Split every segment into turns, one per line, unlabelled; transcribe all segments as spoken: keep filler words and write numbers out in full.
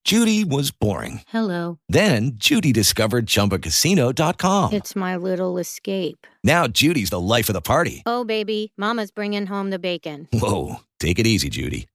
Judy was boring.
Hello.
Then Judy discovered Chumba Casino dot com.
It's my little escape.
Now Judy's the life of the party.
Oh, baby, mama's bringing home the bacon.
Whoa, take it easy, Judy.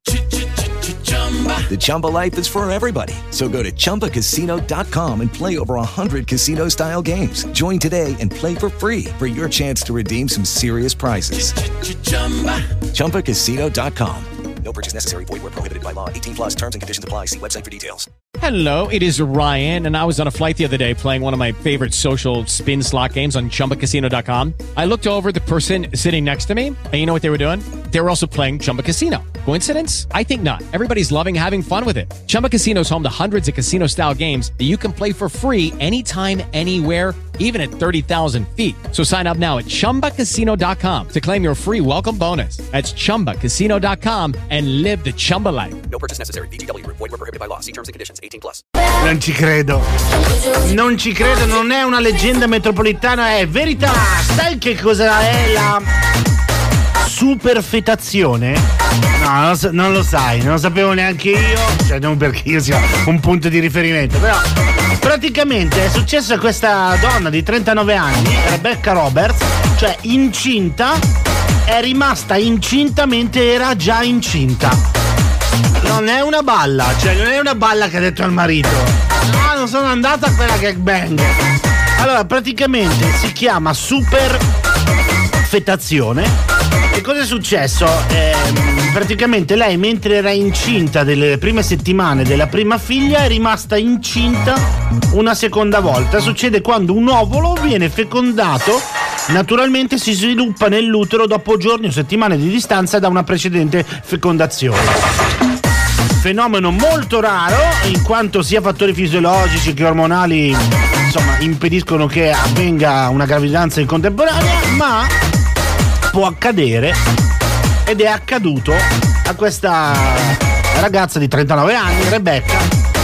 The Chumba life is for everybody. So go to Chumba Casino dot com and play over one hundred casino-style games. Join today and play for free for your chance to redeem some serious prizes. Chumba Casino dot com. No purchase necessary. Void where prohibited by law. eighteen plus terms and conditions apply. See website for details.
Hello, it is Ryan, and I was on a flight the other day playing one of my favorite social spin slot games on Chumba Casino dot com. I looked over at the person sitting next to me, and you know what they were doing? They were also playing Chumba Casino. Coincidence? I think not. Everybody's loving having fun with it. Chumba Casino is home to hundreds of casino-style games that you can play for free anytime, anywhere, even at thirty thousand feet. So sign up now at Chumba Casino dot com to claim your free welcome bonus. That's Chumba Casino dot com and live the Chumba life.
No purchase necessary. V G W. Void where prohibited by law. See terms and conditions. eighteen plus.
Non ci credo. Non ci credo, non è una leggenda metropolitana, è verità. Sai che cosa è la superfetazione? No, non, so, non lo sai, non lo sapevo neanche io. Cioè, non perché io sia un punto di riferimento, però praticamente è successo a questa donna di trentanove anni, Rebecca Roberts, cioè incinta, è rimasta incinta mentre era già incinta. Non è una balla, cioè non è una balla che ha detto al marito. No, non sono andata a quella gangbang. Allora, praticamente si chiama superfetazione. E cosa è successo? Eh, praticamente lei, mentre era incinta delle prime settimane della prima figlia, è rimasta incinta una seconda volta. Succede quando un ovolo viene fecondato, naturalmente si sviluppa nell'utero dopo giorni o settimane di distanza da una precedente fecondazione. Fenomeno molto raro, in quanto sia fattori fisiologici che ormonali, insomma, impediscono che avvenga una gravidanza in contemporanea, ma può accadere, ed è accaduto a questa ragazza di trentanove anni, Rebecca,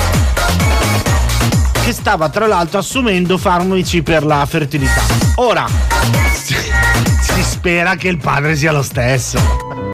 che stava tra l'altro assumendo farmaci per la fertilità. Ora si spera che il padre sia lo stesso.